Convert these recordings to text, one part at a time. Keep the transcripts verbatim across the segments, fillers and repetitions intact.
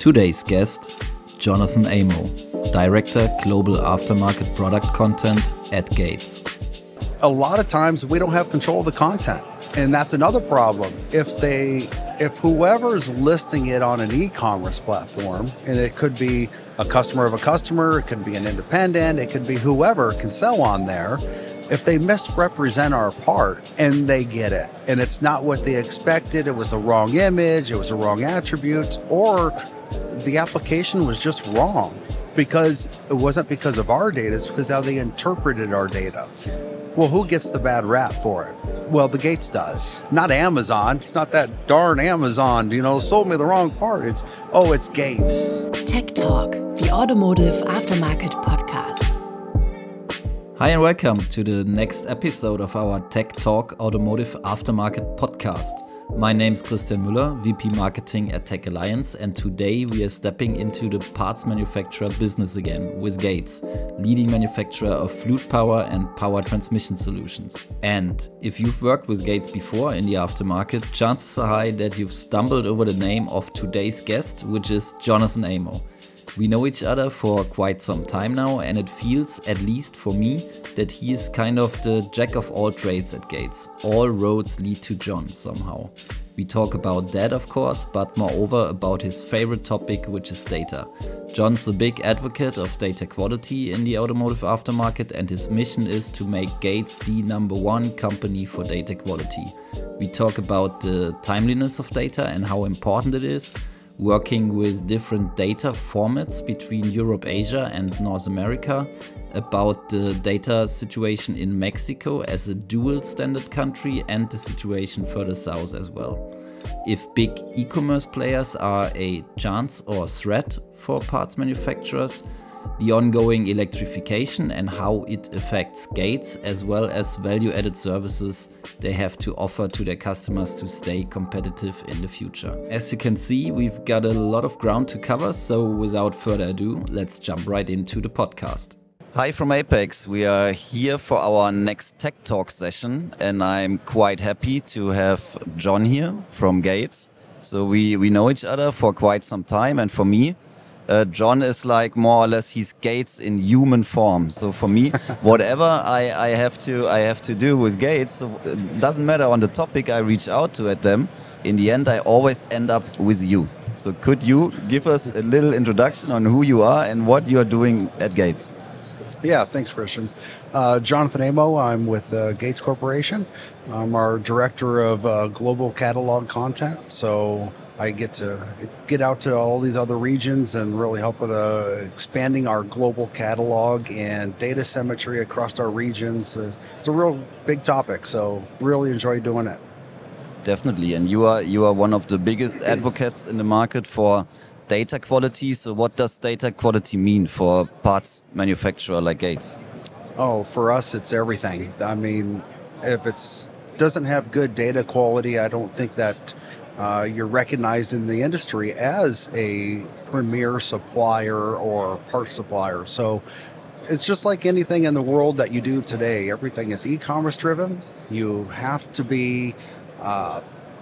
Today's guest, Jonathan Amo, Director Global Aftermarket Product Content at Gates. A lot of times we don't have control of the content, and that's another problem. If they, if whoever's listing it on an e-commerce platform, and it could be a customer of a customer, it could be an independent, it could be whoever can sell on there, if they misrepresent our part and they get it, and it's not what they expected, it was the wrong image, it was the wrong attributes, or the application was just wrong because it wasn't because of our data, it's because how they interpreted our data. Well, who gets the bad rap for it? Well, the Gates does. Not Amazon. It's not that darn Amazon, you know, sold me the wrong part. It's, oh, it's Gates. Tech Talk, the Automotive Aftermarket Podcast. Hi and welcome to the next episode of our Tech Talk Automotive Aftermarket Podcast. My name is Christian Müller, V P Marketing at Tech Alliance, and today we are stepping into the parts manufacturer business again with Gates, leading manufacturer of fluid power and power transmission solutions. And if you've worked with Gates before in the aftermarket, chances are high that you've stumbled over the name of today's guest, which is Jonathan Amo. We know each other for quite some time now, and it feels, at least for me, that he is kind of the jack of all trades at Gates. All roads lead to John somehow. We talk about that, of course, but moreover about his favorite topic, which is data. John's a big advocate of data quality in the automotive aftermarket, and his mission is to make Gates the number one company for data quality. We talk about the timeliness of data and how important it is, working with different data formats between Europe, Asia and North America, about the data situation in Mexico as a dual standard country and the situation further south as well. If big e-commerce players are a chance or threat for parts manufacturers, the ongoing electrification and how it affects Gates, as well as value-added services they have to offer to their customers to stay competitive in the future. As you can see, we've got a lot of ground to cover, so without further ado, let's jump right into the podcast. Hi from Apex. We are here for our next Tech Talk session, and I'm quite happy to have John here from Gates. So we, we know each other for quite some time, and for me, Uh, John is like more or less he's Gates in human form. So for me, whatever I, I have to I have to do with Gates, so it doesn't matter on the topic I reach out to at them. In the end, I always end up with you. So could you give us a little introduction on who you are and what you are doing at Gates? Yeah, thanks, Christian. Uh, Jonathan Amo, I'm with uh, Gates Corporation. I'm our Director of uh, Global Catalog Content. So I get to get out to all these other regions and really help with uh, expanding our global catalog and data symmetry across our regions. It's a real big topic, so really enjoy doing it. Definitely, and you are you are one of the biggest advocates in the market for data quality. So what does data quality mean for a parts manufacturer like Gates? Oh, for us, it's everything. I mean, if it doesn't have good data quality, I don't think that Uh, you're recognized in the industry as a premier supplier or part supplier. So it's just like anything in the world that you do today. Everything is e-commerce driven. You have to be, uh,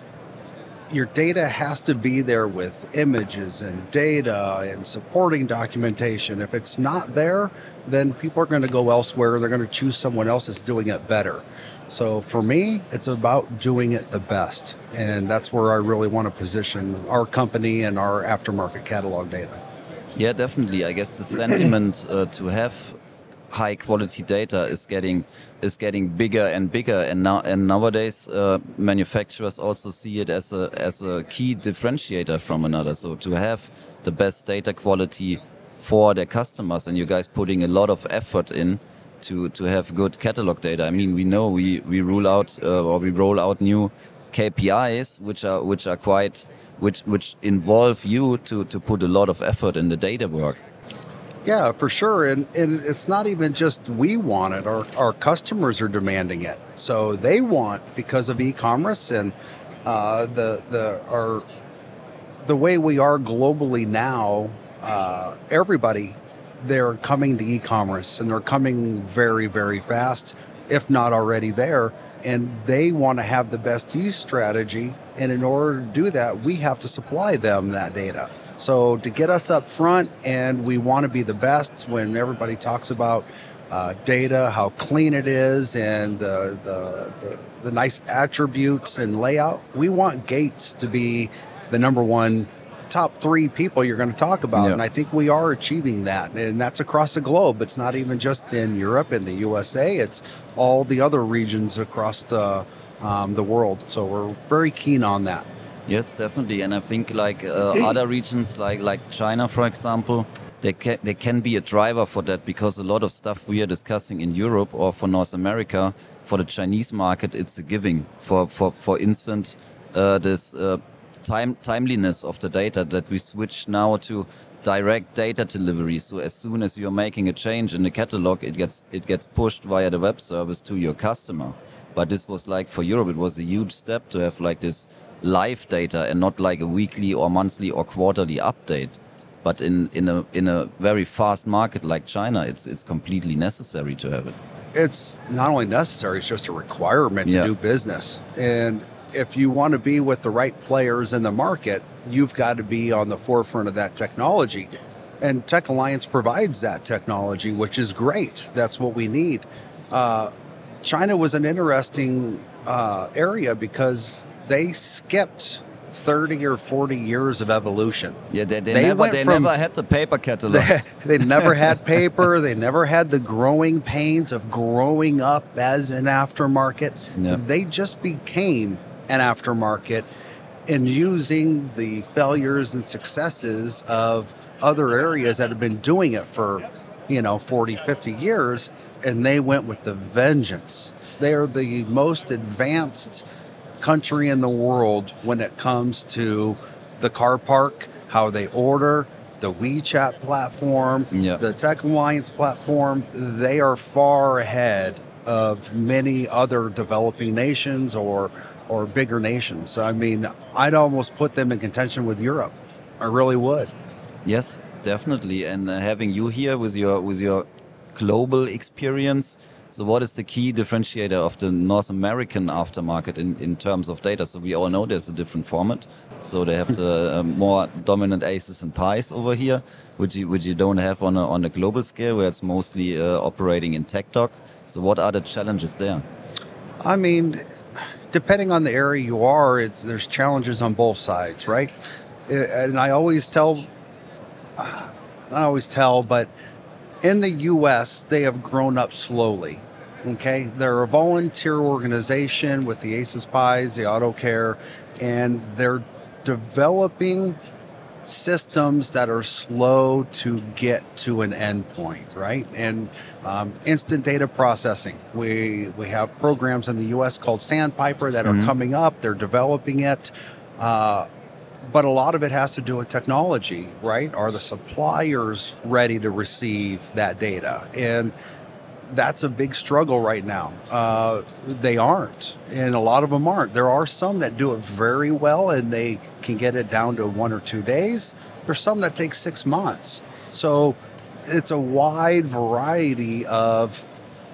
your data has to be there with images and data and supporting documentation. If it's not there, then people are going to go elsewhere. They're going to choose someone else that's doing it better. So for me, it's about doing it the best. And that's where I really want to position our company and our aftermarket catalog data. Yeah, definitely. I guess the sentiment uh, to have high quality data is getting is getting bigger and bigger, and now and nowadays uh, manufacturers also see it as a as a key differentiator from another. So to have the best data quality for their customers, and you guys putting a lot of effort in to to have good catalog data. I mean, we know we we rule out uh, or we roll out new K P Is which are which are quite which which involve you to to put a lot of effort in the data work. Yeah, for sure. And and it's not even just we want it, our our customers are demanding it. So they want, because of e-commerce and uh, the the our the way we are globally now, uh, everybody they're coming to e-commerce, and they're coming very, very fast, if not already there. And they want to have the best use strategy. And in order to do that, we have to supply them that data. So to get us up front, and we want to be the best when everybody talks about uh, data, how clean it is, and the, the, the, the nice attributes and layout, we want Gates to be the number one top three people you're going to talk about. Yeah. And I think we are achieving that. And that's across the globe. It's not even just in Europe and the U S A. It's all the other regions across the, um, the world. So we're very keen on that. Yes, definitely. And I think like uh, other regions like, like China, for example, they can, they can be a driver for that, because a lot of stuff we are discussing in Europe or for North America, for the Chinese market, it's a giving. For, for, for instance, uh, this uh, Time, timeliness of the data, that we switch now to direct data delivery. So as soon as you're making a change in the catalog, it gets it gets pushed via the web service to your customer. But this was like, for Europe, it was a huge step to have like this live data and not like a weekly or monthly or quarterly update. But in, in a in a very fast market like China, it's it's completely necessary to have it. It's not only necessary, it's just a requirement to Yeah. do business. And if you want to be with the right players in the market, you've got to be on the forefront of that technology. And Tech Alliance provides that technology, which is great. That's what we need. Uh, China was an interesting uh, area because they skipped thirty or forty years of evolution. Yeah, they, they, They never went they from- never had the paper catalogs. They never had paper. They never had the growing pains of growing up as an aftermarket. Yeah. They just became an aftermarket and using the failures and successes of other areas that have been doing it for, you know, forty, fifty years, and they went with the vengeance. They are the most advanced country in the world when it comes to the car park, how they order, the WeChat platform, Yeah. the Tech Alliance platform. They are far ahead of many other developing nations or or bigger nations. I mean, I'd almost put them in contention with Europe. I really would. Yes, definitely. And uh, having you here with your with your global experience, so what is the key differentiator of the North American aftermarket in, in terms of data? So we all know there's a different format. So they have the uh, more dominant aces and pies over here, which you, which you don't have on a, on a global scale, where it's mostly uh, operating in TechDoc. So what are the challenges there? I mean, depending on the area you are, it's, there's challenges on both sides, right? And I always tell, uh, not always tell, but in the U S, they have grown up slowly, okay? They're a volunteer organization with the Aces Pies, the Auto Care, and they're developing systems that are slow to get to an endpoint, right? And um, instant data processing. We we have programs in the U S called Sandpiper that Mhm. are coming up. They're developing it. Uh, but a lot of it has to do with technology, right? Are the suppliers ready to receive that data? And that's a big struggle right now. Uh, they aren't, and a lot of them aren't. There are some that do it very well, and they can get it down to one or two days. There's some that take six months. So it's a wide variety of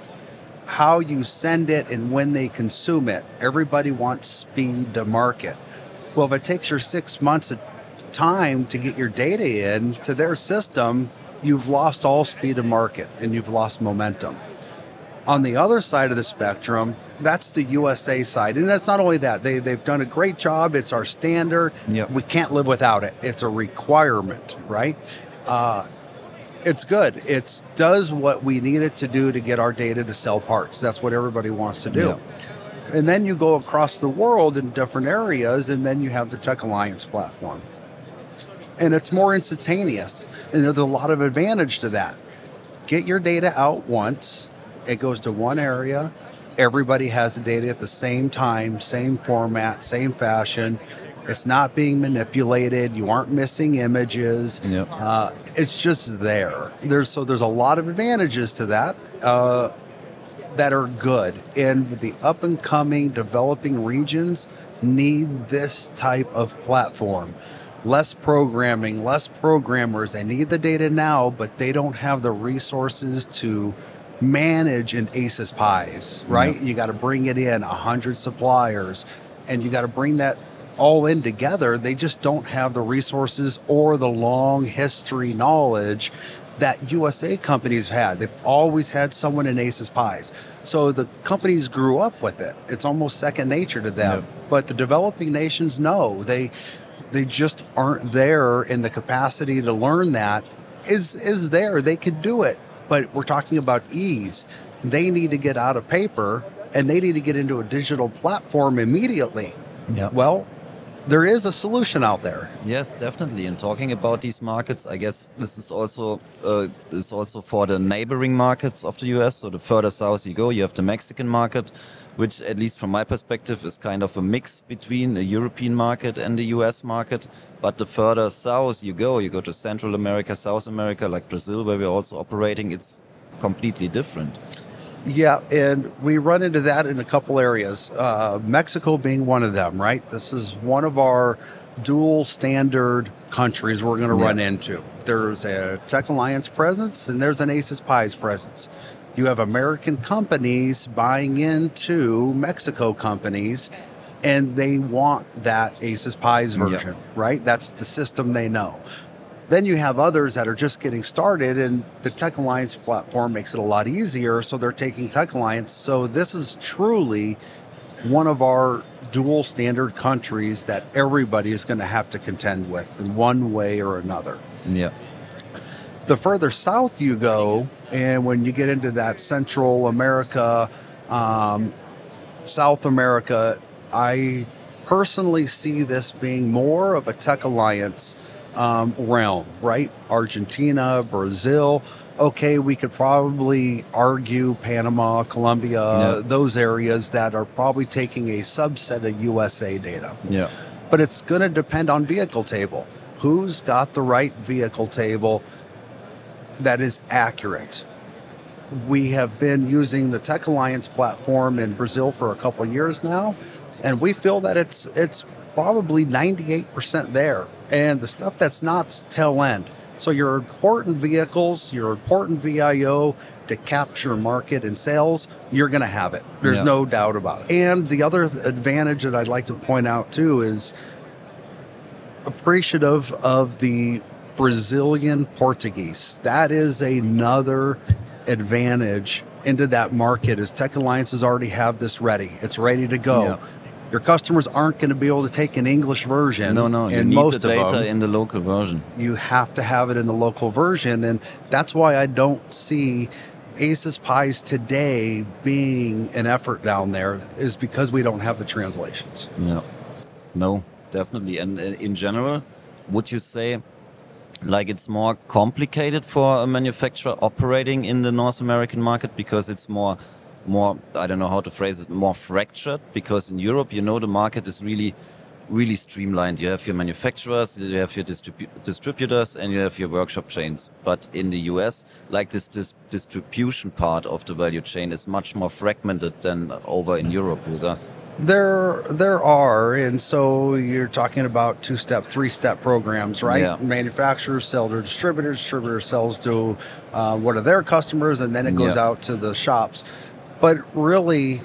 how you send it and when they consume it. Everybody wants speed to market. Well, if it takes your six months of time to get your data in to their system, you've lost all speed to market and you've lost momentum. On the other side of the spectrum, that's the U S A side. And that's not only that, they, they've done a great job. It's our standard. Yep. We can't live without it. It's a requirement, right? Uh, it's good. It does what we need it to do to get our data to sell parts. That's what everybody wants to do. Yeah. And then you go across the world in different areas, and then you have the Tech Alliance platform. And it's more instantaneous. And there's a lot of advantage to that. Get your data out once. It goes to one area. Everybody has the data at the same time, same format, same fashion. It's not being manipulated. You aren't missing images. Yep. Uh, it's just there. There's so there's a lot of advantages to that uh, that are good. And the up and coming developing regions need this type of platform. Less programming, less programmers. They need the data now, but they don't have the resources to manage an Aces Pies, right? Yeah. You got to bring it in, one hundred suppliers, and you got to bring that all in together. They just don't have the resources or the long history knowledge that U S A companies had. They've always had someone in Aces Pies. So the companies grew up with it. It's almost second nature to them. Yeah. But the developing nations, no, they they just aren't there in the capacity to learn that. Is is there. They could do it. But we're talking about ease. They need to get out of paper and they need to get into a digital platform immediately. Yeah. Well, there is a solution out there. Yes, definitely. And talking about these markets, I guess this is also uh, is also for the neighboring markets of the U S. So the further south you go, you have the Mexican market, which at least from my perspective is kind of a mix between the European market and the U S market. But the further south you go, you go to Central America, South America, like Brazil, where we're also operating, it's completely different. Yeah, and we run into that in a couple areas. Uh, Mexico being one of them, right? This is one of our dual standard countries we're going to yeah. run into. There's a Tech Alliance presence and there's an Aces Pies presence. You have American companies buying into Mexico companies, and they want that Aces Pies version, yeah. right? That's the system they know. Then you have others that are just getting started, and the Tech Alliance platform makes it a lot easier, so they're taking Tech Alliance. So this is truly one of our dual standard countries that everybody is going to have to contend with in one way or another. Yeah. The further south you go, and when you get into that Central America, um, South America, I personally see this being more of a Tech Alliance Um, realm, right? Argentina, Brazil. Okay, we could probably argue Panama, Colombia, yeah. those areas that are probably taking a subset of U S A data. Yeah. But it's going to depend on vehicle table. Who's got the right vehicle table that is accurate? We have been using the Tech Alliance platform in Brazil for a couple of years now, and we feel that it's it's probably ninety-eight percent there. And the stuff that's not tail end. So your important vehicles, your important V I O to capture market and sales, you're going to have it. There's yeah. no doubt about it. And the other advantage that I'd like to point out too is appreciative of the Brazilian Portuguese. That is another advantage into that market, as Tech Alliances already have this ready. It's ready to go. Yeah. Your customers aren't going to be able to take an English version. No, no, you and need most the data of them, in the local version. You have to have it in the local version, and that's why I don't see Aces Pies today being an effort down there, is because we don't have the translations. No, no, definitely. And in general, would you say, like, it's more complicated for a manufacturer operating in the North American market because it's more... more, I don't know how to phrase it, more fractured? Because in Europe, you know, the market is really, really streamlined. You have your manufacturers, you have your distribu- distributors, and you have your workshop chains. But in the U S, like this, this distribution part of the value chain is much more fragmented than over in Europe with us. There, there are, and so you're talking about two-step, three-step programs, right? Yeah. Manufacturers sell to distributors, distributors sells to uh, one of their customers, and then it goes yeah. out to the shops. But really,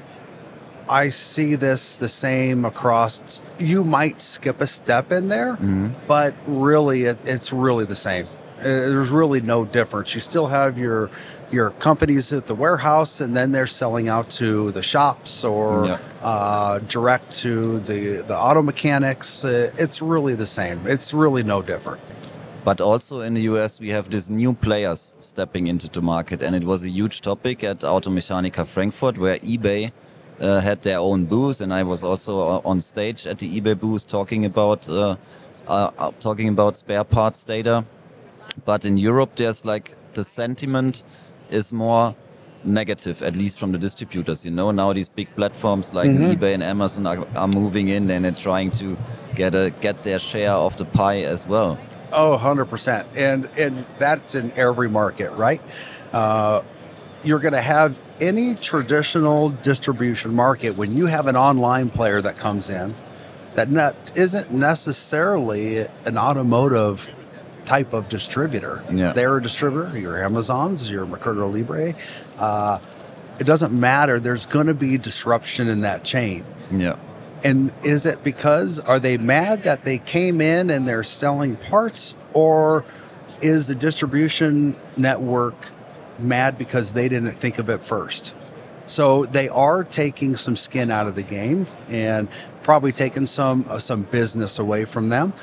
I see this the same across. You might skip a step in there, mm-hmm. but really, it, it's really the same. Uh, there's really no difference. You still have your your companies at the warehouse, and then they're selling out to the shops or yeah. uh, direct to the, the auto mechanics. Uh, it's really the same. It's really no different. But also in the U S, we have these new players stepping into the market. And it was a huge topic at Automechanika Frankfurt, where eBay uh, had their own booth. And I was also on stage at the eBay booth talking about uh, uh, talking about spare parts data. But in Europe, there's like the sentiment is more negative, at least from the distributors. You know, now these big platforms like mm-hmm. eBay and Amazon are, are moving in and they're trying to get a get their share of the pie as well. Oh, one hundred percent. And and that's in every market, right? Uh, you're going to have any traditional distribution market when you have an online player that comes in that not, isn't necessarily an automotive type of distributor. Yeah. They're a distributor, your Amazons, your Mercado Libre. Uh, it doesn't matter. There's going to be disruption in that chain. Yeah. And is it because, are they mad that they came in and they're selling parts, or is the distribution network mad because they didn't think of it first? So they are taking some skin out of the game and probably taking some uh, some business away from them.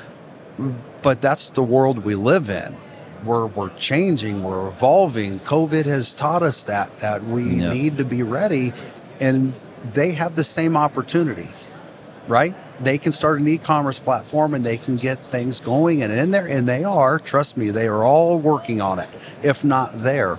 But that's the world we live in. We're we're changing, we're evolving. COVID has taught us that that we Yeah. need to be ready, and they have the same opportunity, right? They can start an e-commerce platform and they can get things going and in there, and they are, trust me, they are all working on it, if not there.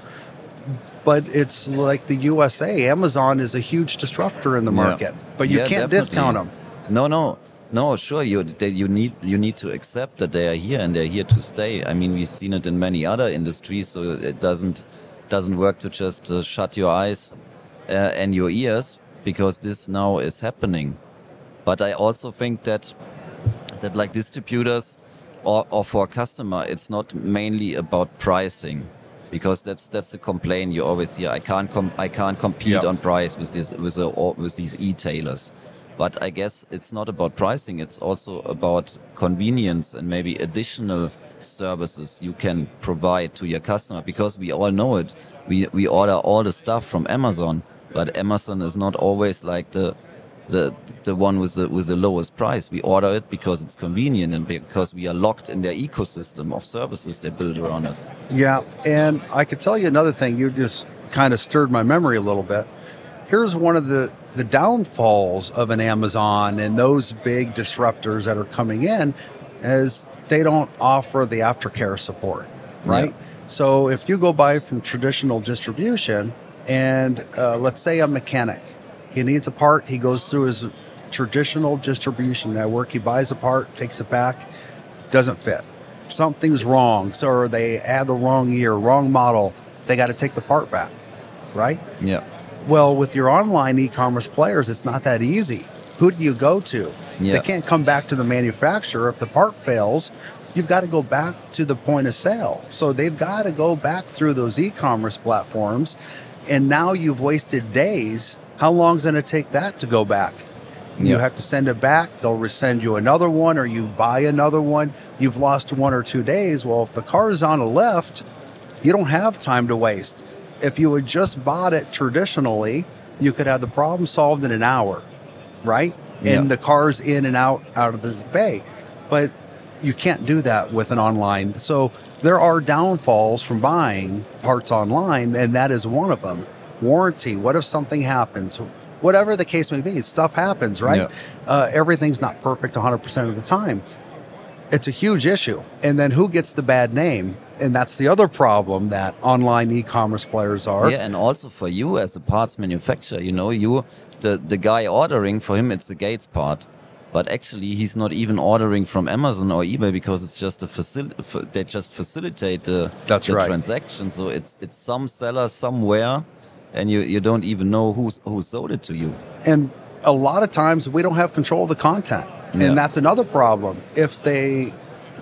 But it's like the U S A. Amazon is a huge disruptor in the Yeah. market, but you Yeah, can't definitely. discount them. No, no, no. Sure, you they, you need you need to accept that they are here and they're here to stay. I mean, we've seen it in many other industries, so it doesn't doesn't work to just uh, shut your eyes uh, and your ears, because this now is happening. But I also think that that like distributors or, or for a customer, it's not mainly about pricing, because that's that's the complaint you always hear. I can't com- I can't compete Yeah. on price with this with the, or with these e-tailers. But I guess it's not about pricing. It's also about convenience and maybe additional services you can provide to your customer, because we all know it. We we order all the stuff from Amazon, but Amazon is not always like the the the one with the with the lowest price. We order it because it's convenient and because we are locked in their ecosystem of services they build around us. Yeah, and I could tell you another thing. You just kind of stirred my memory a little bit. Here's one of the, the downfalls of an Amazon and those big disruptors that are coming in, is they don't offer the aftercare support, right? Yeah. So if you go buy from traditional distribution, and uh, let's say a mechanic, he needs a part, he goes through his traditional distribution network, he buys a part, takes it back, doesn't fit. Something's wrong, so or they add the wrong year, wrong model, they got to take the part back, right? Yeah. Well, with your online e-commerce players, it's not that easy. Who do you go to? Yeah. They can't come back to the manufacturer. If the part fails, you've got to go back to the point of sale. So they've got to go back through those e-commerce platforms, and now you've wasted days. How long is it going to take that to go back? You Yeah. have to send it back. They'll resend you another one, or you buy another one. You've lost one or two days. Well, if the car's on a lift, you don't have time to waste. If you had just bought it traditionally, you could have the problem solved in an hour, right? Yeah. And the car's in and out, out of the bay. But you can't do that with an online. So there are downfalls from buying parts online, and that is one of them. Warranty. What if something happens? Whatever the case may be, stuff happens, right? Yeah. Uh, everything's not perfect one hundred percent of the time. It's a huge issue. And then who gets the bad name? And that's the other problem that online e-commerce players are. Yeah, and also for you as a parts manufacturer, you know, you the the guy ordering, for him it's the Gates part, but actually he's not even ordering from Amazon or eBay, because it's just a facil- f- they just facilitate the, That's the right. transaction. So it's it's some seller somewhere, and you, you don't even know who's who sold it to you. And a lot of times we don't have control of the content. Yeah. And that's another problem. If they,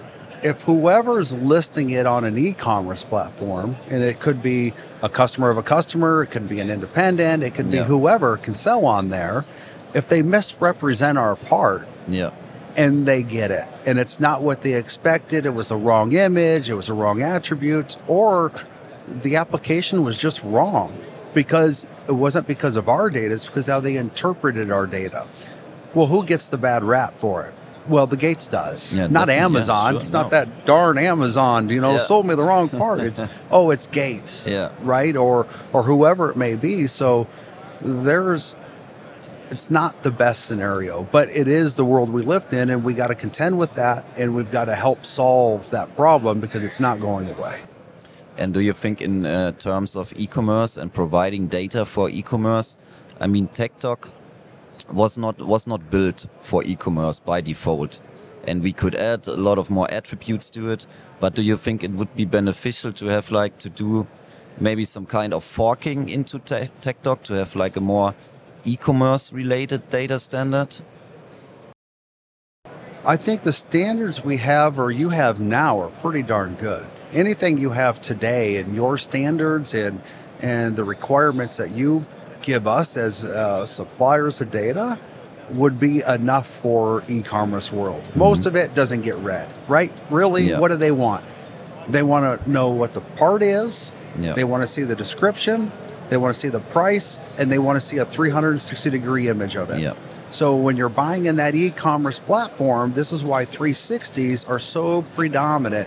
if whoever's listing it on an e-commerce platform, and it could be a customer of a customer, it could be an independent, it could be Yeah. whoever can sell on there, if they misrepresent our part, Yeah. and they get it, and it's not what they expected, it was the wrong image, it was the wrong attributes, or the application was just wrong, because it wasn't because of our data, it's because how they interpreted our data. Well, who gets the bad rap for it? Well, the Gates does, Yeah, not definitely. Yeah, Amazon. sure, It's not no. that darn Amazon, you know, Yeah. sold me the wrong part. It's, oh, it's Gates, Yeah. right? Or or whoever it may be. So there's, it's not the best scenario, but it is the world we lived in, and we got to contend with that, and we've got to help solve that problem, because it's not going away. And do you think in uh, terms of e-commerce and providing data for e-commerce, I mean, TechTalk was not was not built for e-commerce by default, and we could add a lot of more attributes to it. But do you think it would be beneficial to have like to do maybe some kind of forking into te- TechTalk to have like a more e-commerce related data standard? I think the standards we have, or you have now, are pretty darn good. Anything you have today and your standards and and the requirements that you give us as uh, suppliers of data, would be enough for e-commerce world. Most mm-hmm. of it doesn't get read, right? Really, yeah. What do they want? They want to know what the part is. Yeah. They want to see the description. They want to see the price, and they want to see a three hundred sixty degree image of it. Yeah. So when you're buying in that e-commerce platform, this is why three sixties are so predominant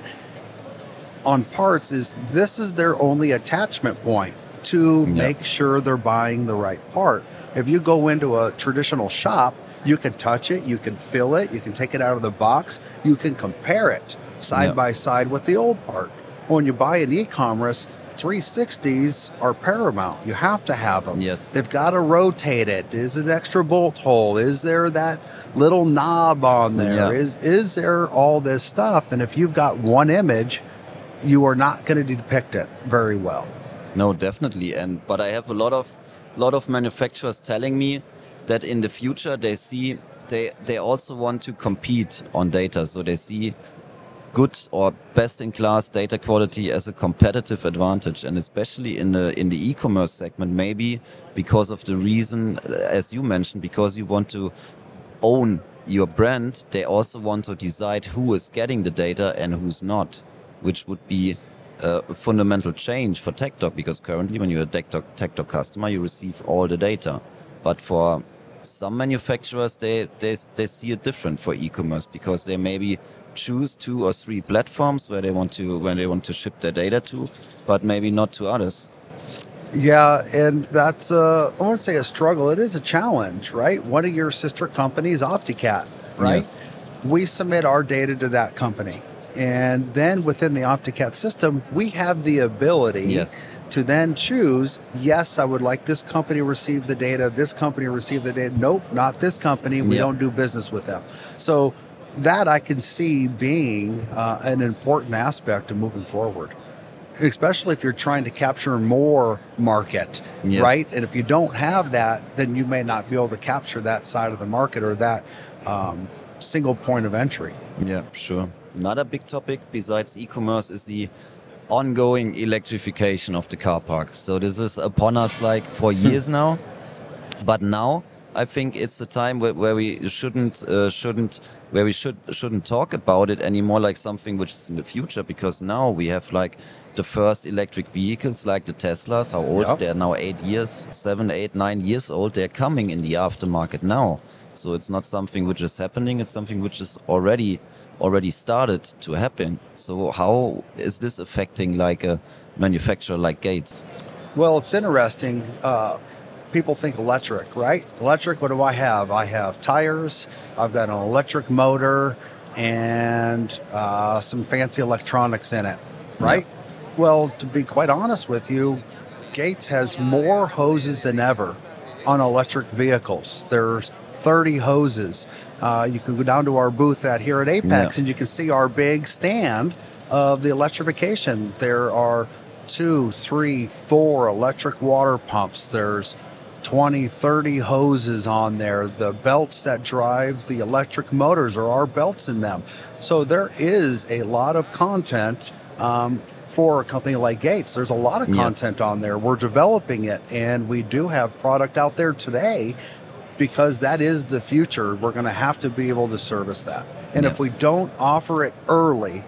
on parts. Is this is their only attachment point to yeah. make sure they're buying the right part. If you go into a traditional shop, you can touch it, you can feel it, you can take it out of the box, you can compare it side yeah. by side with the old part. When you buy an e-commerce, three sixties are paramount. You have to have them. Yes. They've got to rotate it. Is it an extra bolt hole? Is there that little knob on there? Yeah. Is is there all this stuff? And if you've got one image, you are not going to depict it very well. No, definitely. And but I have a lot of lot of manufacturers telling me that in the future they see they they also want to compete on data. So they see good or best-in-class data quality as a competitive advantage, and especially in the in the e-commerce segment, maybe because of the reason, as you mentioned, because you want to own your brand, they also want to decide who is getting the data and who's not, which would be a fundamental change for TechDoc, because currently when you're a TechDoc, TechDoc customer, you receive all the data. But for some manufacturers, they, they, they see it different for e-commerce, because they maybe choose two or three platforms where they want to where they want to ship their data to, but maybe not to others. Yeah, and that's uh, I won't say a struggle. It is a challenge, right? One of your sister companies, OptiCat, right? Yes. We submit our data to that company, and then within the OptiCat system, we have the ability yes. to then choose. Yes, I would like this company to receive the data. This company to receive the data. Nope, not this company. We yep. don't do business with them. So that I can see being uh, an important aspect of moving forward, especially if you're trying to capture more market, yes. right? And if you don't have that, then you may not be able to capture that side of the market or that um, single point of entry. Yeah, sure. Another big topic besides e-commerce is the ongoing electrification of the car park. So this is upon us like for years now, but now I think it's the time where, where we shouldn't uh, shouldn't where we should shouldn't talk about it anymore like something which is in the future, because now we have like the first electric vehicles like the Teslas. How old? Yep. They're now eight years, seven, eight, nine years old. They're coming in the aftermarket now. So it's not something which is happening. It's something which is already already started to happen. So how is this affecting like a manufacturer like Gates? Well, it's interesting. Uh, people think electric, right? Electric, what do I have? I have tires, I've got an electric motor, and uh, some fancy electronics in it, right? Yeah. Well, to be quite honest with you, Gates has more hoses than ever on electric vehicles. There's thirty hoses. Uh, you can go down to our booth at here at Apex, yeah. and you can see our big stand of the electrification. There are two, three, four electric water pumps. There's twenty, thirty hoses on there. The belts that drive the electric motors are our belts in them. So there is a lot of content um, for a company like Gates. There's a lot of content yes. on there. We're developing it, and we do have product out there today because that is the future. We're going to have to be able to service that. And yeah. if we don't offer it early,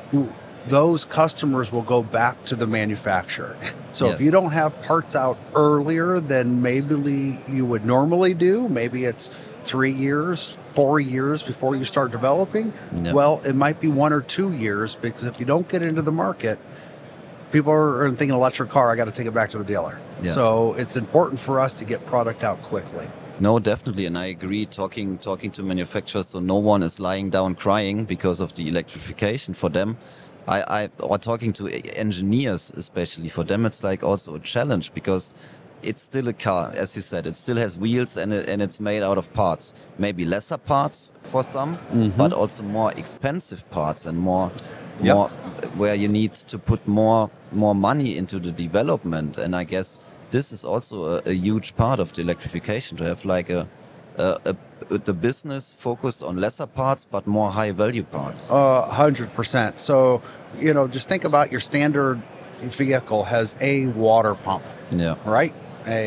those customers will go back to the manufacturer. So yes. if you don't have parts out earlier than maybe you would normally do, maybe it's three years, four years before you start developing, no. well, it might be one or two years, because if you don't get into the market, people are thinking electric car, I got to take it back to the dealer. Yeah. So it's important for us to get product out quickly. No, definitely, and I agree. Talking talking to manufacturers, so no one is lying down crying because of the electrification. For them, I, I or talking to engineers, especially for them, it's like also a challenge, because it's still a car, as you said. It still has wheels, and it, and it's made out of parts. Maybe lesser parts for some, mm-hmm. but also more expensive parts and more, yep. more where you need to put more more money into the development. And I guess this is also a, a huge part of the electrification, to have like a, a, a the business focused on lesser parts but more high value parts. Uh, one hundred percent. So, you know, just think about your standard vehicle has a water pump. Yeah. Right? A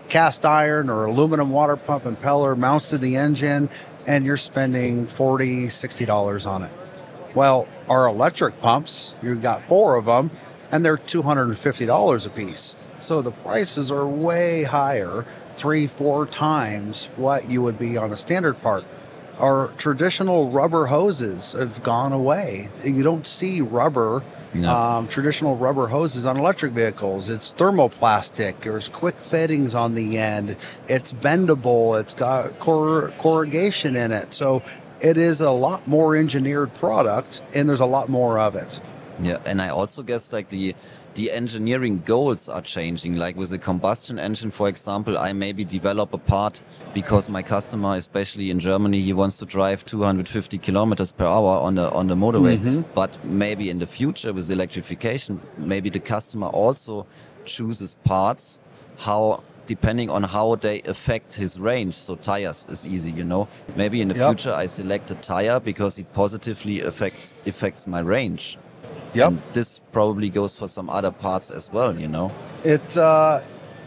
cast iron or aluminum water pump impeller mounts to the engine, and you're spending forty dollars, sixty dollars on it. Well, our electric pumps, you've got four of them, and they're two hundred fifty dollars a piece. So the prices are way higher, three, four times what you would be on a standard part. Our traditional rubber hoses have gone away. You don't see rubber, no. um, traditional rubber hoses on electric vehicles. It's thermoplastic. There's quick fittings on the end. It's bendable. It's got cor- corrugation in it. So it is a lot more engineered product, and there's a lot more of it. Yeah, and I also guess like the the engineering goals are changing. Like with the combustion engine, for example, I maybe develop a part because my customer, especially in Germany, he wants to drive two hundred fifty kilometers per hour on the on the motorway. Mm-hmm. But maybe in the future with electrification, maybe the customer also chooses parts how depending on how they affect his range. So tires is easy, you know. Maybe in the Yep. future I select a tire because it positively affects affects my range. Yep. And this probably goes for some other parts as well, you know. It uh,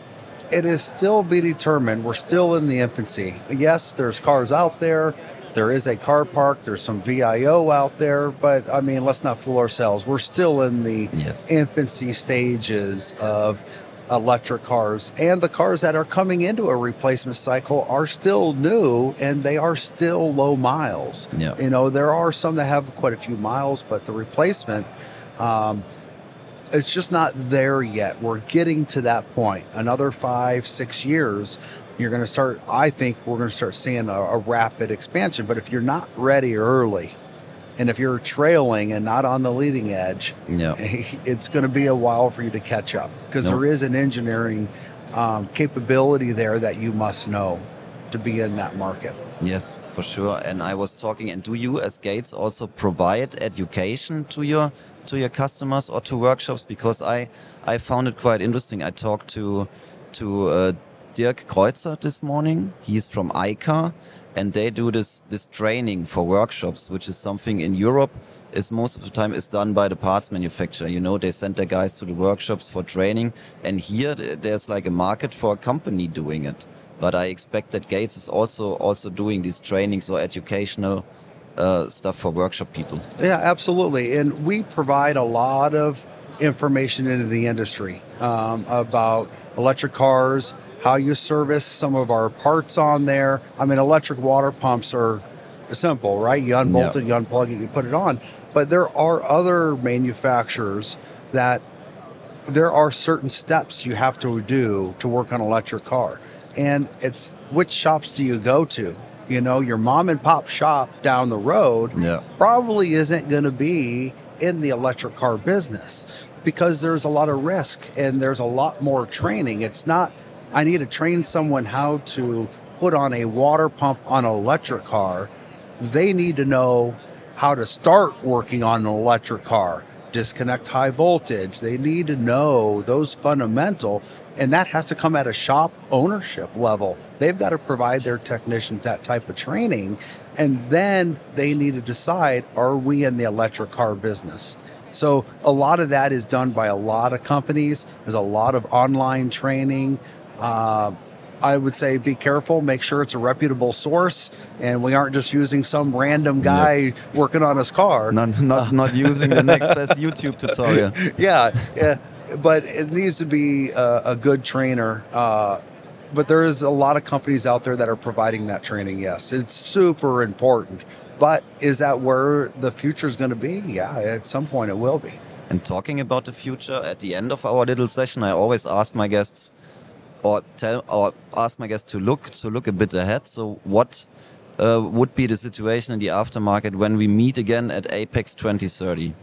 it is still be determined. We're still in the infancy. Yes, there's cars out there. There is a car park. There's some V I O out there. But, I mean, let's not fool ourselves. We're still in the Yes. infancy stages of electric cars. And the cars that are coming into a replacement cycle are still new, and they are still low miles. Yeah. You know, there are some that have quite a few miles, but the replacement... Um, it's just not there yet. We're getting to that point. Another five, six years, you're going to start, I think we're going to start seeing a, a rapid expansion. But if you're not ready early, and if you're trailing and not on the leading edge, Yeah. it's going to be a while for you to catch up, because No. there is an engineering um, capability there that you must know to be in that market. Yes, for sure. And I was talking, and do you as Gates also provide education to your to your customers or to workshops? Because I I found it quite interesting. I talked to to uh, Dirk Kreuzer this morning. He's from I C A R, and they do this this training for workshops, which is something in Europe is most of the time is done by the parts manufacturer. You know, they send their guys to the workshops for training, and here there's like a market for a company doing it. But I expect that Gates is also also doing these trainings or educational uh, stuff for workshop people. Yeah, absolutely. And we provide a lot of information into the industry um, about electric cars, how you service some of our parts on there. I mean, electric water pumps are simple, right? You unbolt Yeah. it, you unplug it, you put it on. But there are other manufacturers that there are certain steps you have to do to work on an electric car. And it's which shops do you go to? You know, your mom and pop shop down the road Yeah. probably isn't going to be in the electric car business, because there's a lot of risk and there's a lot more training. It's not, I need to train someone how to put on a water pump on an electric car. They need to know how to start working on an electric car, disconnect high voltage. They need to know those fundamental, and that has to come at a shop ownership level. They've got to provide their technicians that type of training, and then they need to decide, are we in the electric car business? So a lot of that is done by a lot of companies. There's a lot of online training. Uh, I would say be careful, make sure it's a reputable source, and we aren't just using some random guy Yes. working on his car. Not not not using the next best YouTube tutorial. yeah, yeah, but it needs to be a, a good trainer. Uh, but there is a lot of companies out there that are providing that training. Yes, it's super important. But is that where the future is going to be? Yeah, at some point it will be. And talking about the future, at the end of our little session, I always ask my guests, or tell, or ask my guests to look to look a bit ahead. So, what uh, would be the situation in the aftermarket when we meet again at Apex twenty thirty?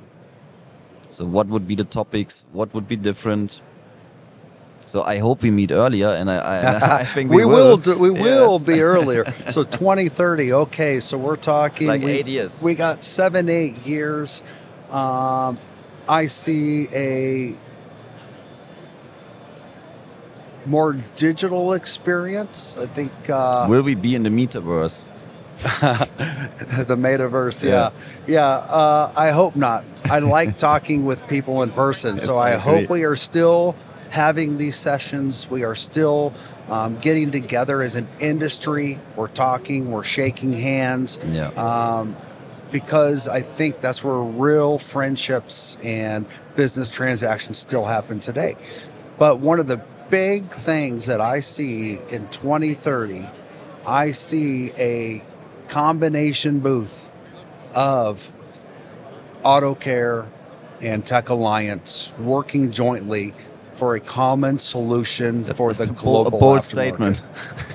So, what would be the topics? What would be different? So, I hope we meet earlier, and I, I, I think we, we will. do, we Yes. will be earlier. So twenty thirty. Okay, so we're talking It's like we, eight years. We got seven, eight years. Um, I see a more digital experience. I think uh, Will we be in the metaverse? the metaverse. Yeah. Yeah, yeah. Uh, I hope not. I like talking with people in person, Yes, so I I, hope agree. we are still having these sessions. We are still um, getting together as an industry. We're talking, we're shaking hands. Yeah. Um, because I think that's where real friendships and business transactions still happen today. But one of the big things that I see in twenty thirty, I see a combination booth of AutoCare and Tech Alliance working jointly for a common solution That's for a the bold- global a bold aftermarket. statement.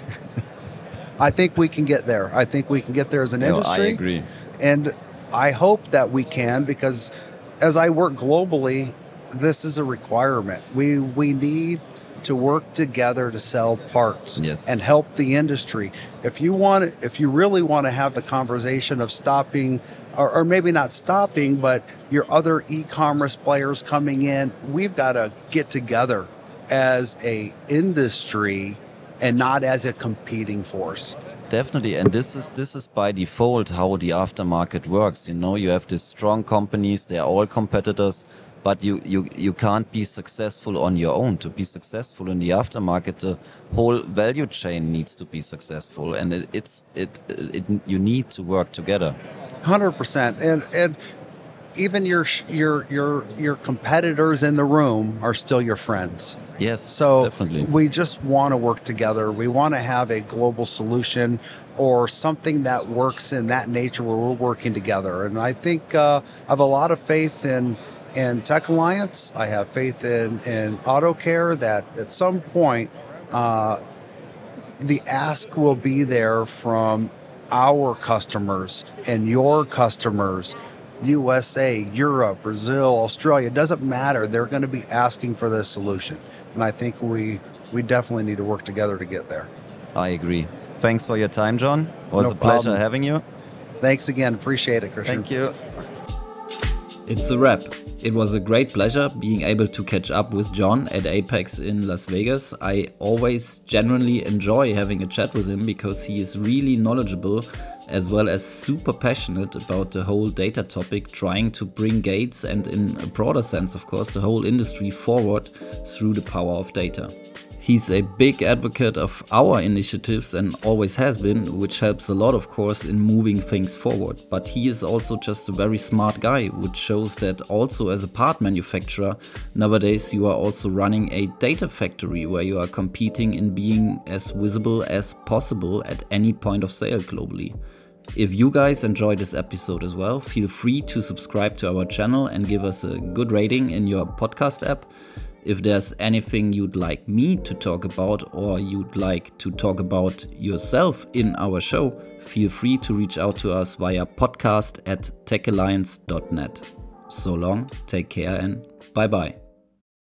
I think we can get there. I think we can get there as an No, industry. I agree. And I hope that we can, because as I work globally, this is a requirement. We we need to work together to sell parts Yes. and help the industry. If you want, if you really want to have the conversation of stopping, or, or maybe not stopping, but your other e-commerce players coming in, we've got to get together as a industry and not as a competing force. Definitely, and this is this is by default how the aftermarket works. You know, you have these strong companies; they are all competitors, but you, you, you can't be successful on your own. To be successful in the aftermarket, the whole value chain needs to be successful, and it, it's it, it you need to work together. one hundred percent, and and even your your your your competitors in the room are still your friends. Yes, So definitely. we just want to work together. We want to have a global solution or something that works in that nature where we're working together. And I think uh, I have a lot of faith in in Tech Alliance. I have faith in in AutoCare that at some point uh, the ask will be there from our customers and your customers. U S A, Europe, Brazil, Australia, it doesn't matter. They're going to be asking for this solution. And I think we we definitely need to work together to get there. I agree. Thanks for your time, John. It was No a pleasure problem. having you. Thanks again. Appreciate it, Christian. Thank you. It's a wrap. It was a great pleasure being able to catch up with John at Apex in Las Vegas. I always genuinely enjoy having a chat with him because he is really knowledgeable as well as super passionate about the whole data topic, trying to bring Gates and, in a broader sense, of course, the whole industry forward through the power of data. He's a big advocate of our initiatives and always has been, which helps a lot, of course, in moving things forward. But he is also just a very smart guy, which shows that also as a part manufacturer, nowadays you are also running a data factory where you are competing in being as visible as possible at any point of sale globally. If you guys enjoyed this episode as well, feel free to subscribe to our channel and give us a good rating in your podcast app. If there's anything you'd like me to talk about or you'd like to talk about yourself in our show, feel free to reach out to us via podcast at tech alliance dot net. So long, take care and bye bye.